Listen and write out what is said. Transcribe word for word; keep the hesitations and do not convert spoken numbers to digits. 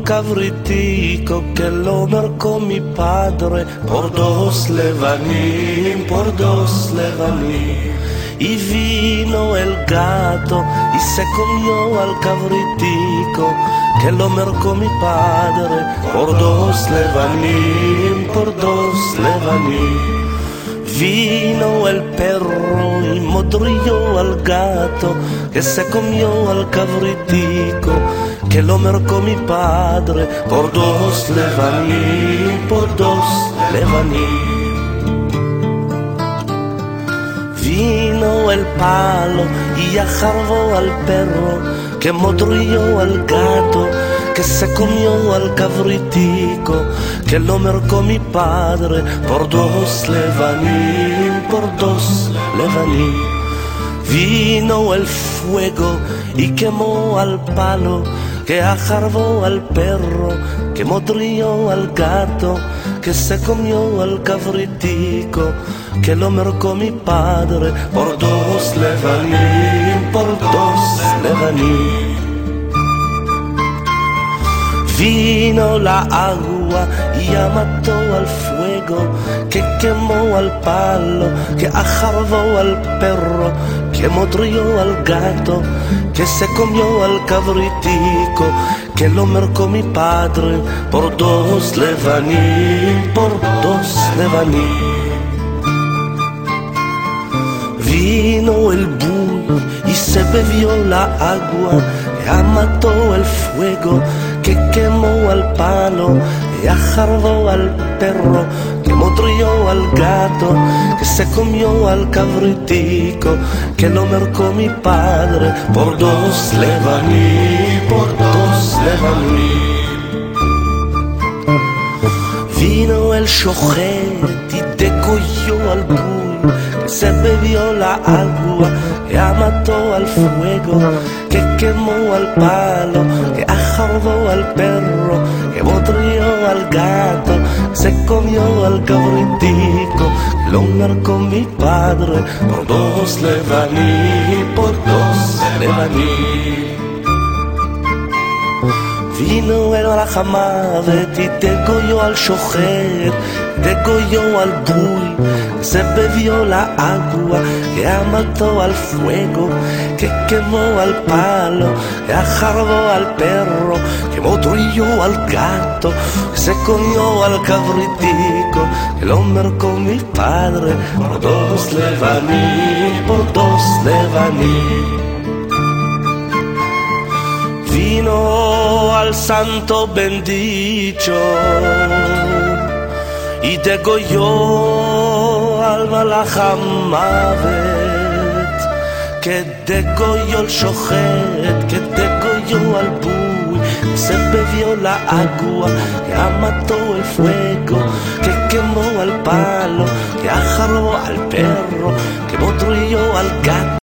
al cabritico que lo marcó mi padre por dos levanim, por dos levanim. Y vino el gato y se comió al cabritico que lo marcó mi padre por dos levanim, por dos levanim. Vino el perro y modrió al gato que se comió al cabritico que lo marcó mi padre por dos levanim, por dos levanim. Vino el palo y ajarbó al perro que modrió al gato que se comió al cabritico que lo marcó mi padre por dos levanim, por dos levanim. Vino el fuego y quemó al palo que ajarbó al perro que modrió al gato que se comió al cabritico que lo marcó mi padre por dos levanim, por dos levanim. Vino la agua y ya mató al fuego que quemó al palo, que ajarbó al perro, que modrió al gato, que se comió al cabritico, que lo marcó mi padre por dos levanim, por dos levanim. Vino el buey y se bebió la agua, ya mató el fuego que quemó al palo, que ajarbó al perro, que modrió al gato, que se comió al cabritico, que lo marcó mi padre por dos levanim, por dos levanim. Vino el shochet y degolló al buey, que se bebió la agua, que mató al fuego, que quemó al palo, que ajarbó al perro, que modrió al gato, que se comió al cabritico, que lo marcó mi padre por dos levanim, por dos levanim. Vino el Alajamavet y degolló al shochet, degolló al buey, que se bebió la agua, que mató al fuego, que quemó al palo, que ajarbó al perro, que modrió al gato, que se comió al cabritico, que lo marcó mi padre por dos levanim, por dos levanim. Vino al santo bendito y degolló al Alajamavet, que degolló el shochet, que degolló al buey, que se bebió la agua, que mató el fuego, que quemó al palo, que ajarbó al perro, que modrió al gato.